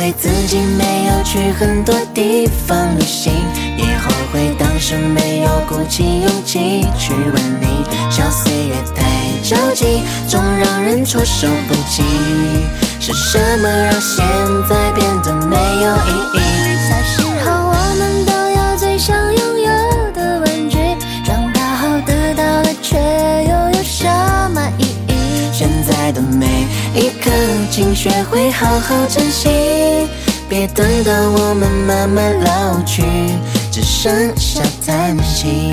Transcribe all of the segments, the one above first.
悔自己没有去很多地方旅行，也后悔当时没有鼓起勇气去问你。笑岁月太着急，总让人措手不及。是什么让现在变得没有意义？小时候我们都有最想拥有的玩具，长大后得到了却又有什么意义？现在的每一刻请学会好好珍惜，别等到我们慢慢老去，只剩下叹息。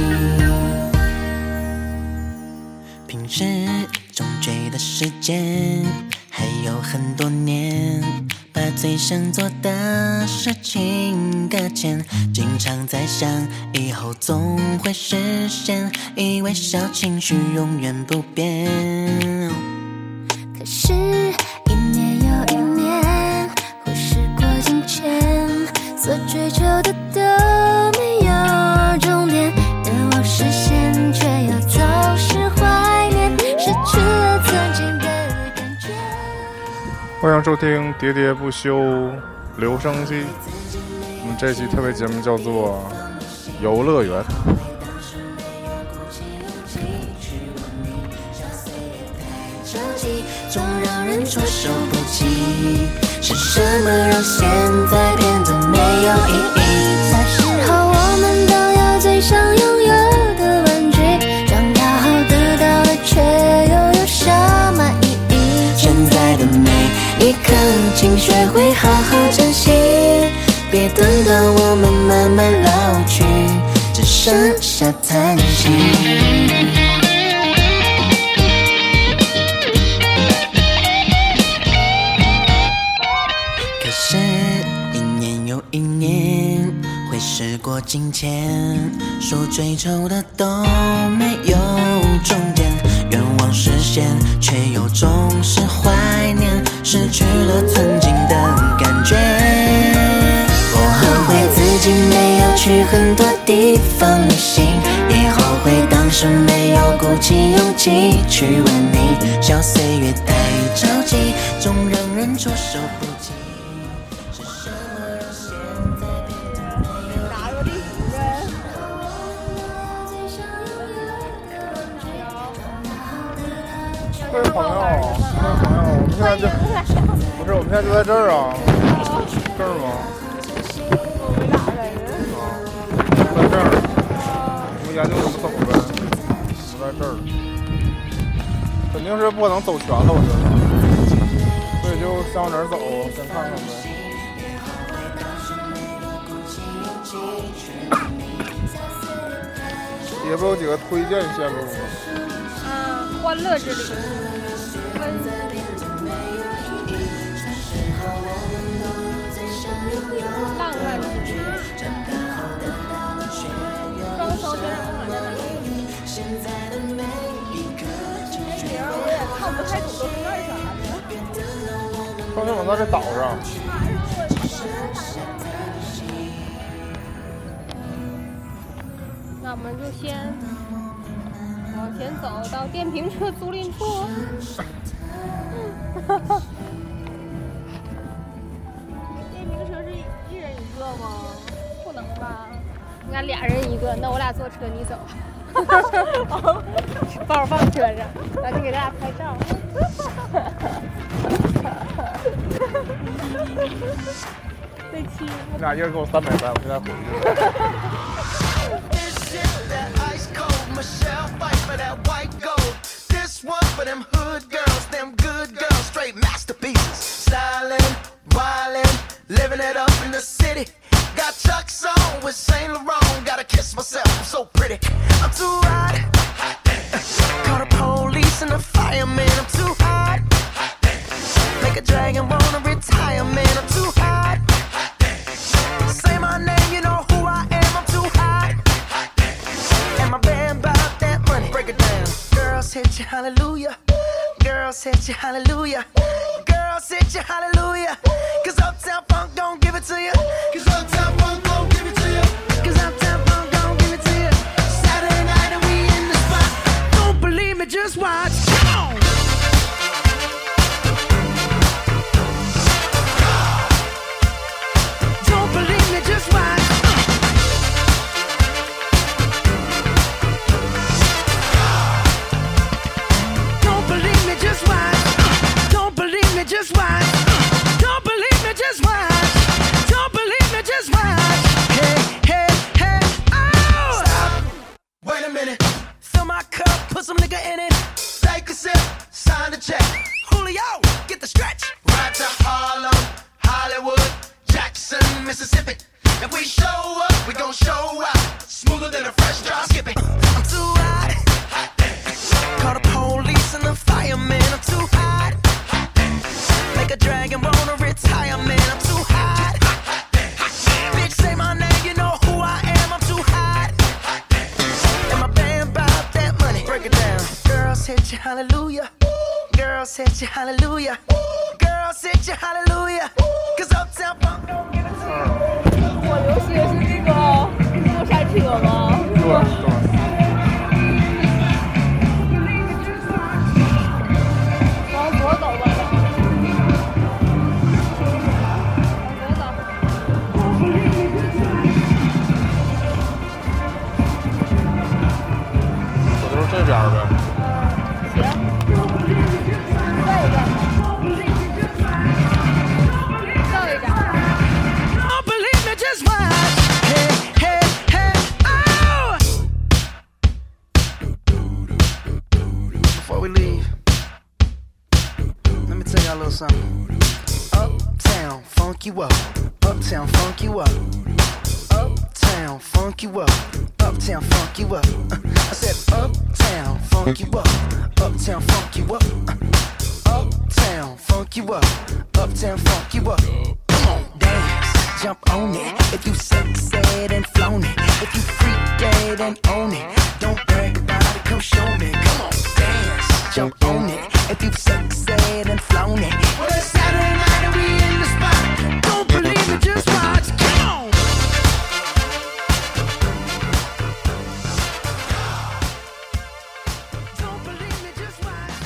平时总觉得时间还有很多年，把最想做的事情搁浅，经常在想以后总会实现，以为小情绪永远不变。可是一年又一年，忽视过金钱，所追求的都没有终点，愿望实现却又总是怀念，失去了曾经的感觉。 欢迎收听喋喋不休留声机，我们这期特别节目叫做游乐园。 总让人措手不及，是什么让现在变得没有意义？小时候我们都有最想拥有的玩具，长大后得到了却又有什么意义？现在的每一刻请学会好好珍惜，别等到我们慢慢老去，只剩下叹息。时过境迁，说追求的都没有终点，愿望实现却又总是怀念，失去了曾经的感觉。我后悔自己没有去很多地方旅行，也后悔当时没有鼓起勇气去问你。笑岁月太着急，总让人措手不及。 各位朋友，我们现在就不是，我们现在就在这儿啊，这儿吗？ 我们俩在这儿，我们研究怎么走呗，我们在这儿，肯定是不可能走全了，我觉得，所以就先往哪儿走，先看看呗。也不有几个推荐线路吗？ 欢乐之旅，浪漫之旅，双手学生们在哪里？这名我也看不太懂，都是干啥的？ 双前往在这岛上。 那我们就先往前走到电瓶车租赁处。电瓶车是一人一个吗？不能吧？应该俩人一个。那我俩坐车，你走。包放车上，咱就给大家拍照。这期你俩一人给我330，我现在回去。 Michelle fight for that white gold. This one for them hood girls, them good girls, straight masterpieces. Stylin', wildin', living it up in the city. Got Chuck's on with Saint Laurent. Gotta kiss myself, I'm so pretty. I'm too hot. Call the police and the fireman. I'm too hot. Make a dragon wanna retire, man. I'm too hot. Say my name, you know who I am. I'm too hot. And my band bought that money. Break it down. Girls hit you, hallelujah. Girls hit you, hallelujah. Girls hit you, hallelujah. Cause Uptown Funk don't give it to you. Cause Uptown Funk don't give it to you. Cause Uptown Funk don't give it to you. Saturday night and we in the spot. Don't believe me, just watch. Come on. the stretch. Ride to Harlem, Hollywood, Jackson, Mississippi. If we show up, we gon' show out. Smoother than a fresh drop skipping. I'm too hot. Call the police and the fireman. I'm too hot. Make a dragon wanna retire, man. I'm too hot. Bitch, say my name, you know who I am. I'm too hot. And my band bought that money. Break it down. Girls hit you, hallelujah. Girls hit you, hallelujah. Girls hit you, hallelujah. Cause Uptown Funk don't get us. 我流行的是这个过山车吗？ 对。 往左走吧。 我就是这边呗。 Something. Uptown, funk you up. Uptown, funk you up. Uptown, funk you up. Uptown, funk you up. I said uptown, funk you up. Uptown, funk you up. Uptown, funk you up. Uptown, funk you up. Come on, dance, jump on it. If you succeed and flown it. If you freak dead and own it. Don't brag about it, come show me. Come on, dance, jump on it. If you've succeeded and flown it. Well, it's Saturday night and we in the spot. Don't believe me, just watch. Come on. Don't believe me, just watch.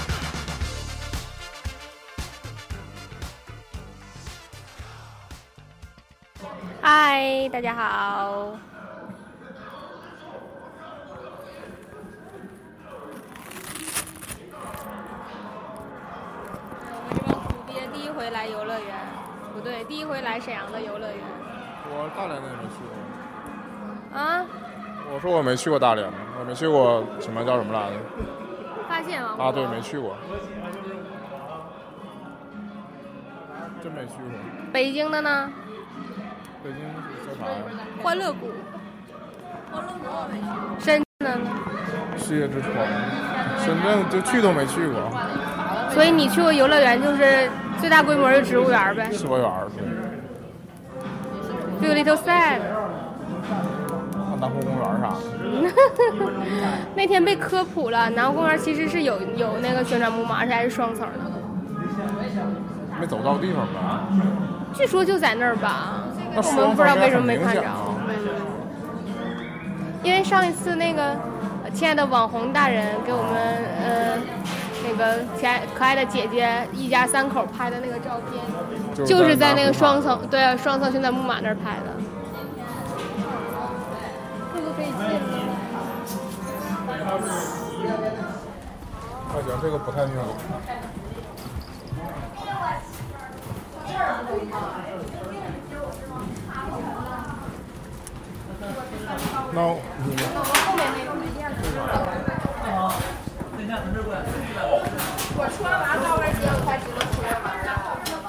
嗨，大家好。第一回来游乐园，不对，第一回来沈阳的游乐园。 我大连的也没去过。 啊？ 我说我没去过大连，我没去过什么叫什么来着？ 发现王国。 啊，对，没去过。真没去过。 北京的呢？ 北京叫啥呀？ 欢乐谷。欢乐谷我没去过。深圳的呢？ 世界之窗。深圳就去都没去过。 所以你去过游乐园就是最大规模的植物园呗？ 植物园对。Feel little sad。 南湖公园啥的。 那天被科普了，南湖公园其实是有那个旋转木马，而且还是双层的。 没走到地方吧？ 据说就在那儿吧，我们不知道为什么没看着。因为上一次那个亲爱的网红大人给我们那个可爱的姐姐一家三口拍的那个照片，就是在那个双层旋转木马那儿拍的。这个可以进吗？ 我觉得这个不太妙。那我后面那个没电了。我穿完高跟鞋，我才知道出来玩儿。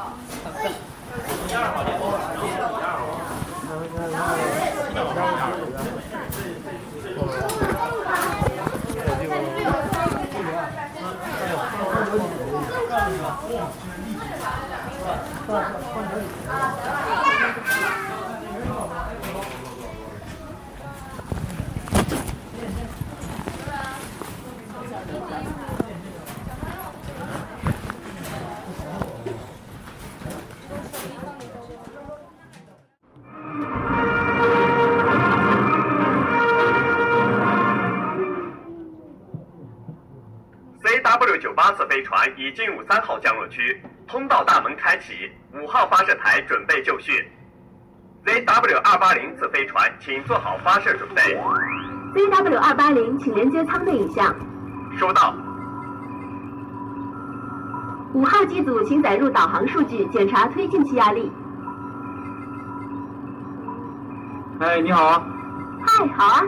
CW98次飞船已进入3号降落区，通道大门开启，5号发射台准备就绪。ZW280 次飞船，请做好发射准备。 ZW280，请连接舱内影像。 收到。 5号机组，请载入导航数据，检查推进气压力。 哎，你好啊。 嗨，好啊。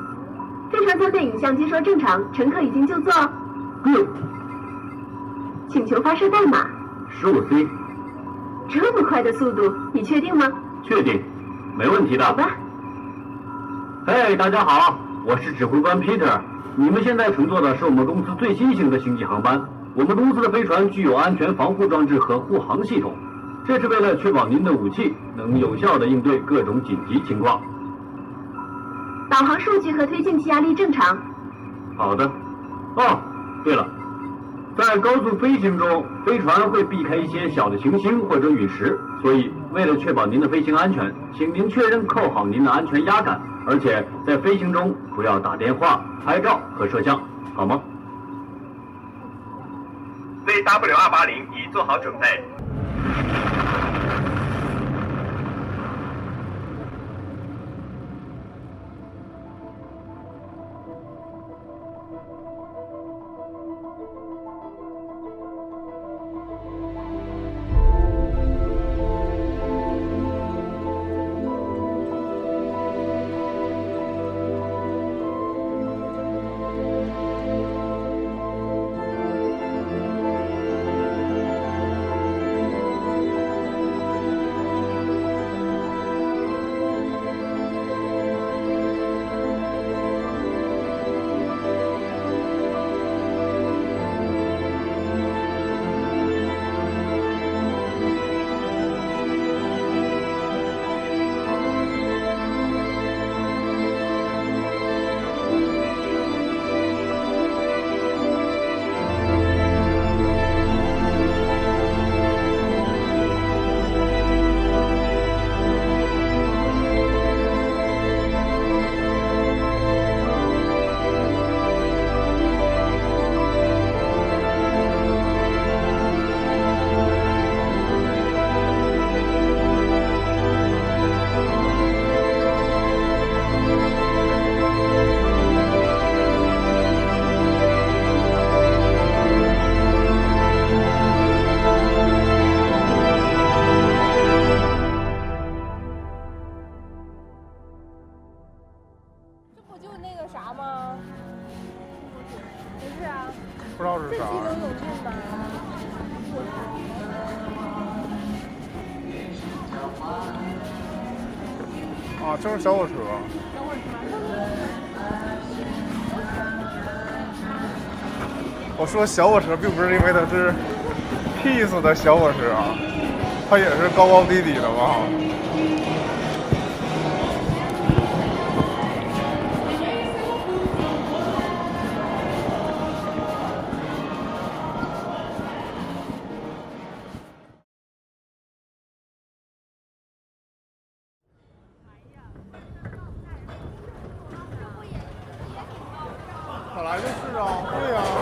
飞船舱内影像接收正常，乘客已经就座。 Good。 请求发射代码。 15C。 这么快的速度，你确定吗？ 确定，没问题的。 好吧。 嘿，大家好，我是指挥官 Peter。你们现在乘坐的是我们公司最新型的星际航班。我们公司的飞船具有安全防护装置和护航系统，这是为了确保您的武器能有效地应对各种紧急情况。 导航数据和推进气压力正常。 好的。哦，对了，在高速飞行中，飞船会避开一些小的行星或者陨石，所以为了确保您的飞行安全，请您确认扣好您的安全压杆，而且在飞行中不要打电话、拍照和摄像，好吗 ？VW280已做好准备。 不知道是啥。啊，就是小火车。我说小火车并不是因为它是 Peace 的小火车，它也是高高低低的嘛。本来就是啊，对呀。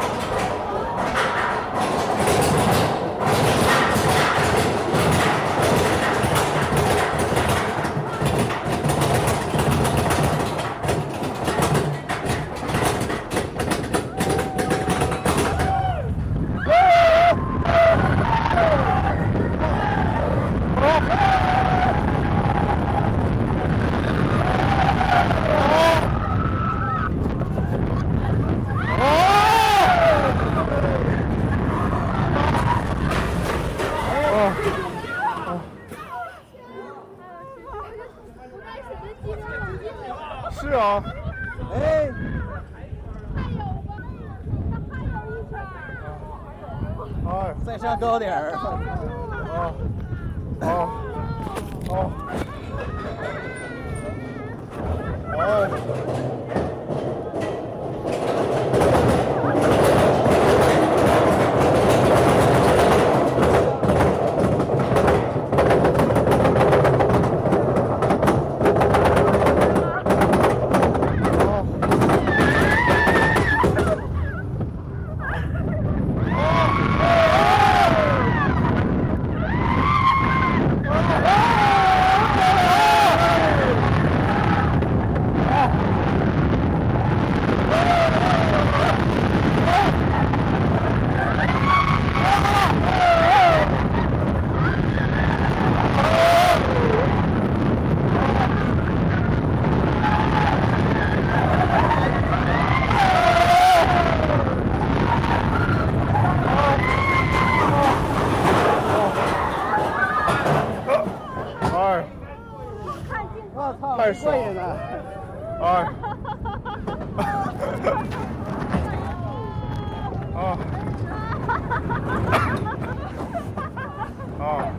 是啊，哎，哎， 再上高点儿。 太爽了！哎，啊啊！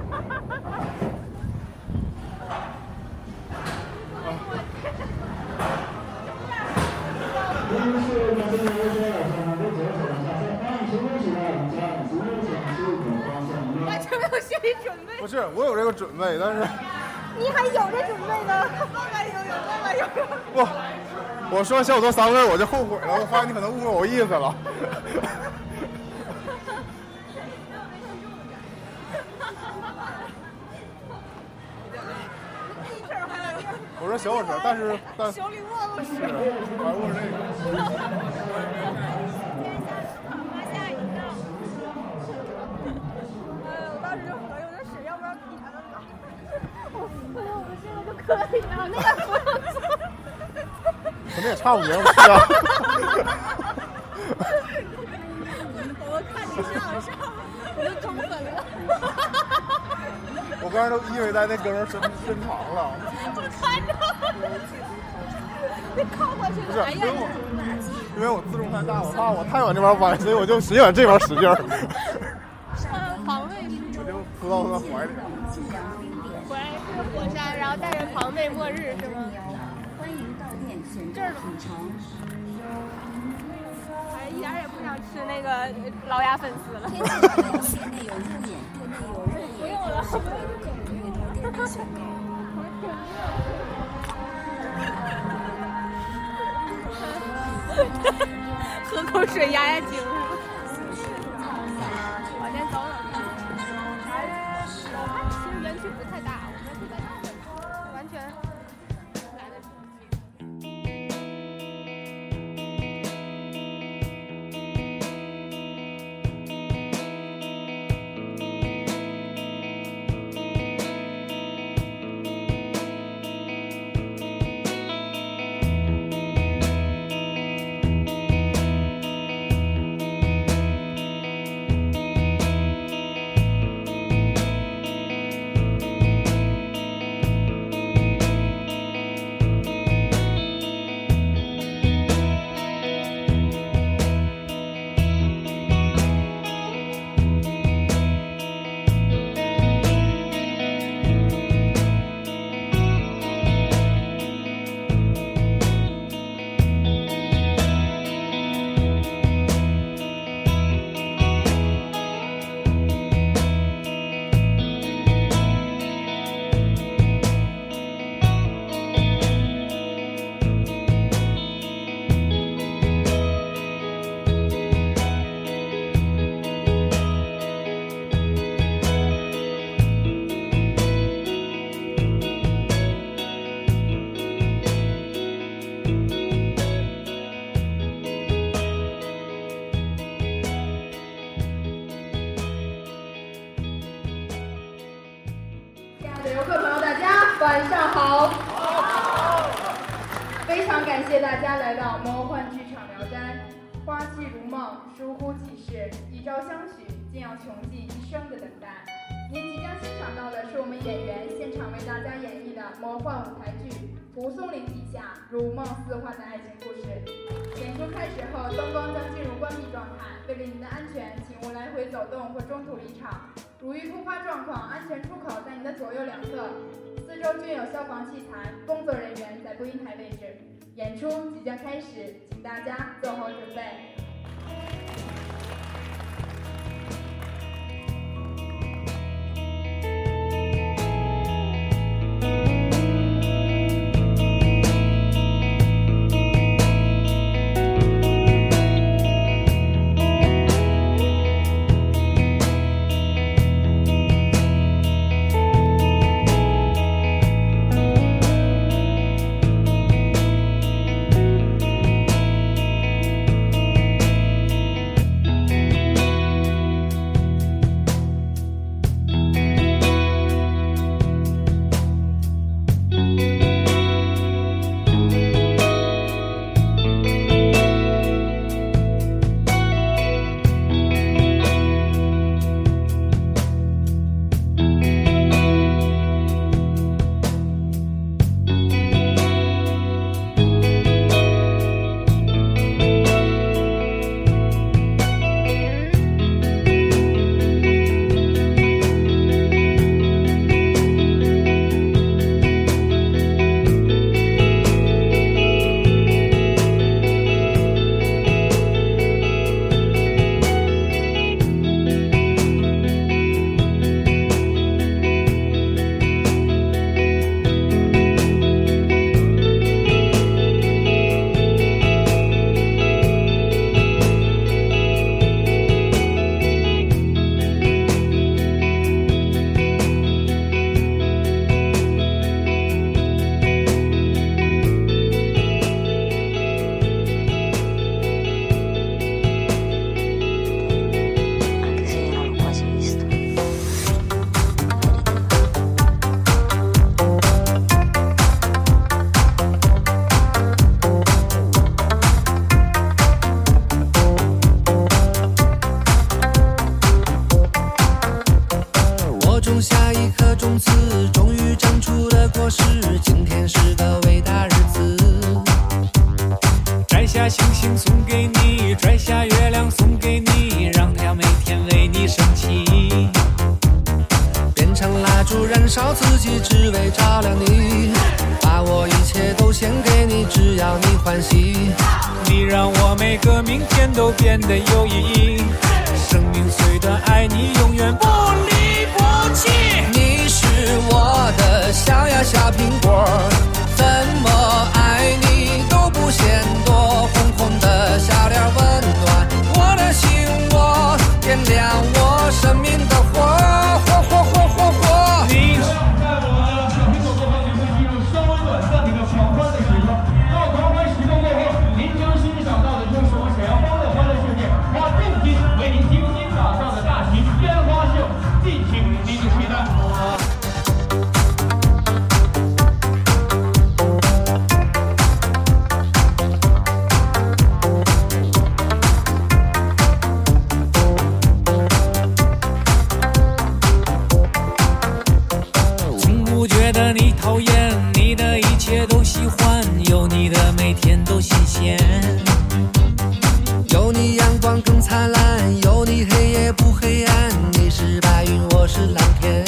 完全没有心理准备。 不是，我有这个准备，但是你还有这准备呢？ 不，我说小多3个我就后悔了，我发现你可能误会我意思了。我说小火车，但小李忘了是，还误是这个。 可以啊，那个不用做， 可能也差不多吧。 我看你上，我就中粉了。 我刚才都以为在那哥们身旁了。 我看着，你靠过去了。 不是，因为我自重太大，我怕我太往这边歪，所以我就使劲往这边使劲。 防卫， 我就扑到他怀里。 回来是火山，然后带着庞贝末日是吗？ 欢迎到店选择组成。 哎，一点也不想吃那个老鸭粉丝了。 店内有路演，店内有热不用了， 店内选购。 喝口水压压惊。往前走走。其实园区不太大，我们是在完全来得及。 晚上好，非常感谢大家来到魔幻剧场聊斋。花期如梦，疏忽即逝，一朝相许，竟要穷尽一生的等待。您即将欣赏到的是我们演员现场为大家演绎的魔幻舞台剧《蒲松龄笔下如梦似幻的爱情故事》。演出开始后，灯光将进入关闭状态，为了您的安全，请勿来回走动或中途离场。如遇突发状况，安全出口在您的左右两侧，四周均有消防器材，工作人员在播音台位置。演出即将开始，请大家做好准备。 种下一颗种子，终于长出了果实。今天是个伟大日子， 摘下星星送给你，摘下月亮送给你，让太阳每天为你升起。 变成蜡烛燃烧自己，只为照亮你。把我一切都献给你，只要你欢喜。 你让我每个明天都变得有意义。生命虽短，爱你永远不离不弃。 你是我的小呀小苹果，怎么爱你都不嫌多。红红的笑脸温暖我的心窝，点亮我生命的火，火火火火火。 你在我们小苹果过后，就会进入稍微短暂的一个狂欢的时刻。到狂欢时刻过后，您将欣赏到的就是我沈阳方的欢乐世界，花重金为您精心打造的大型烟花秀，敬请您的期待。 你讨厌，你的一切都喜欢，有你的每天都新鲜。 有你阳光更灿烂，有你黑夜不黑暗。你是白云，我是蓝天。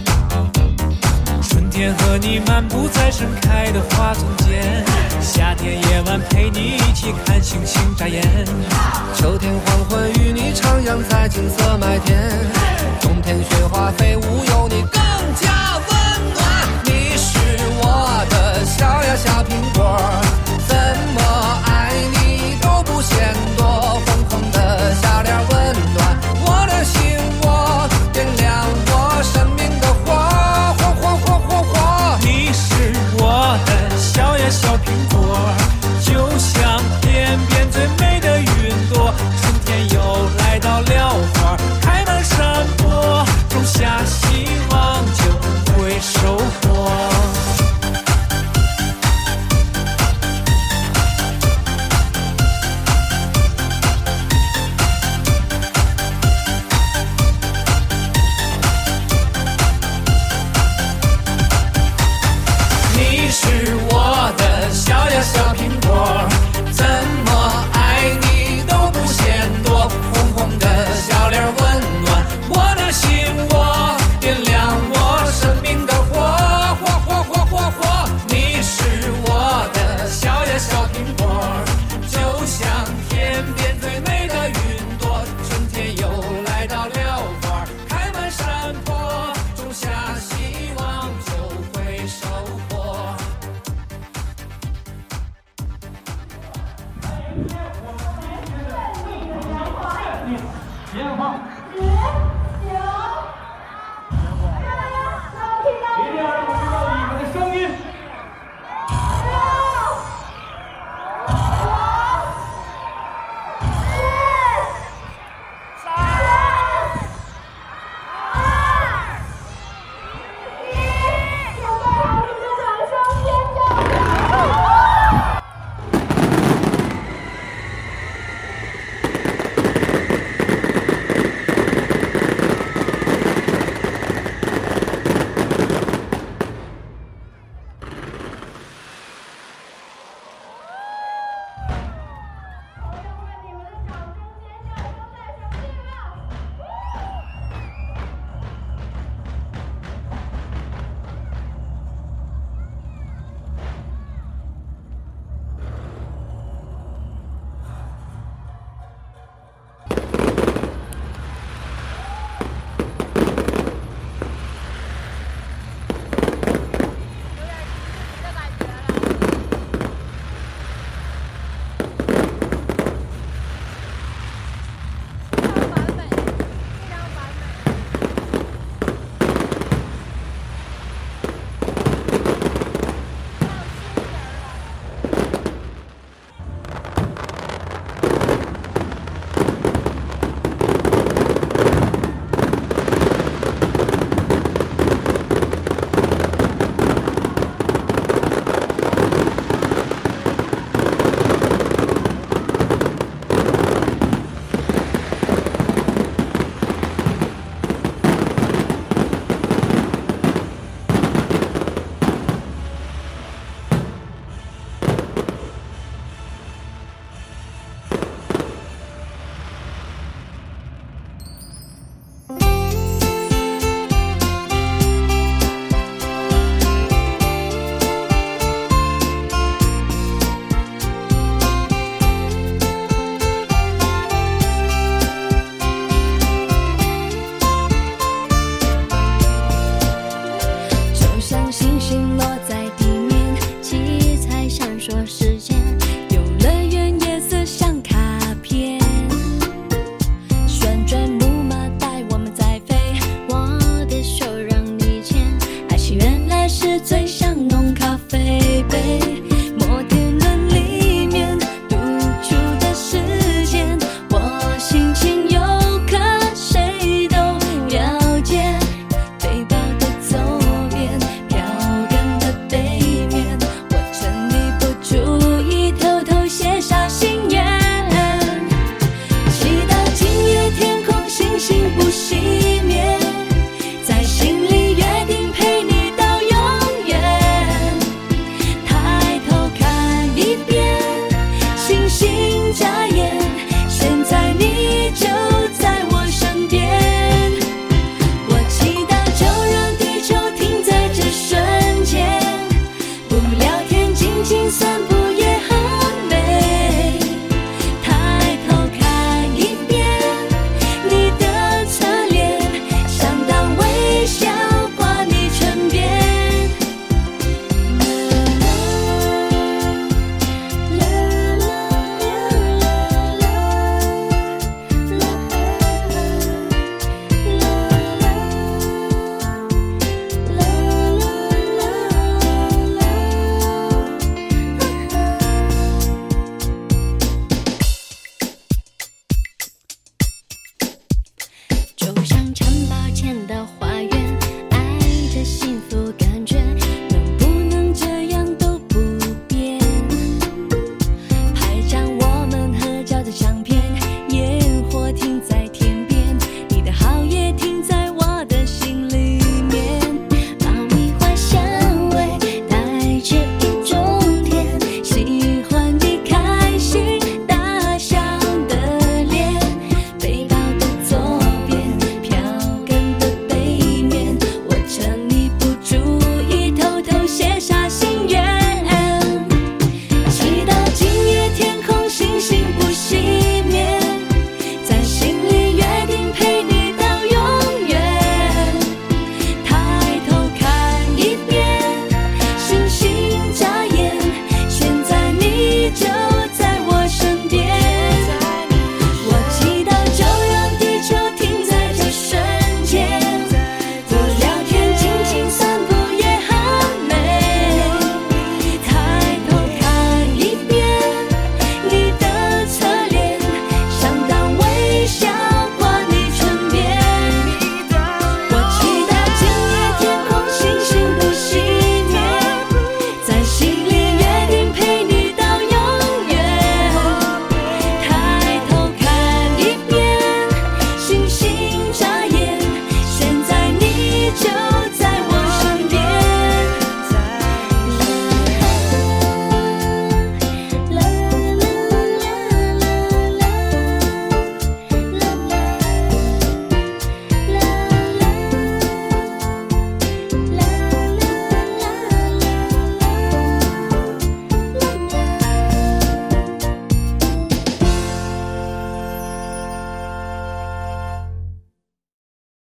春天和你漫步在盛开的花丛间，夏天夜晚陪你一起看星星眨眼。 秋天黄昏与你徜徉在金色麦田，冬天雪花飞舞，有你更加温暖。你是我的小呀小苹果，怎么爱你都不嫌多。红红的笑脸温暖我的心窝，点亮我生命的火，火火火火火。 你是我的小呀小苹果，就像天边最美的云朵。春天又来到了花开满山坡，种下希望就会收获。你是我的小呀小苹果，怎么爱你都不嫌多。红红的笑脸温暖我的心窝，点亮我生命的火，火火火火火。你是我的小呀小苹果，就像天边最美的云朵。春天又来到了花开满山坡，种下希望就会收获。 烟花。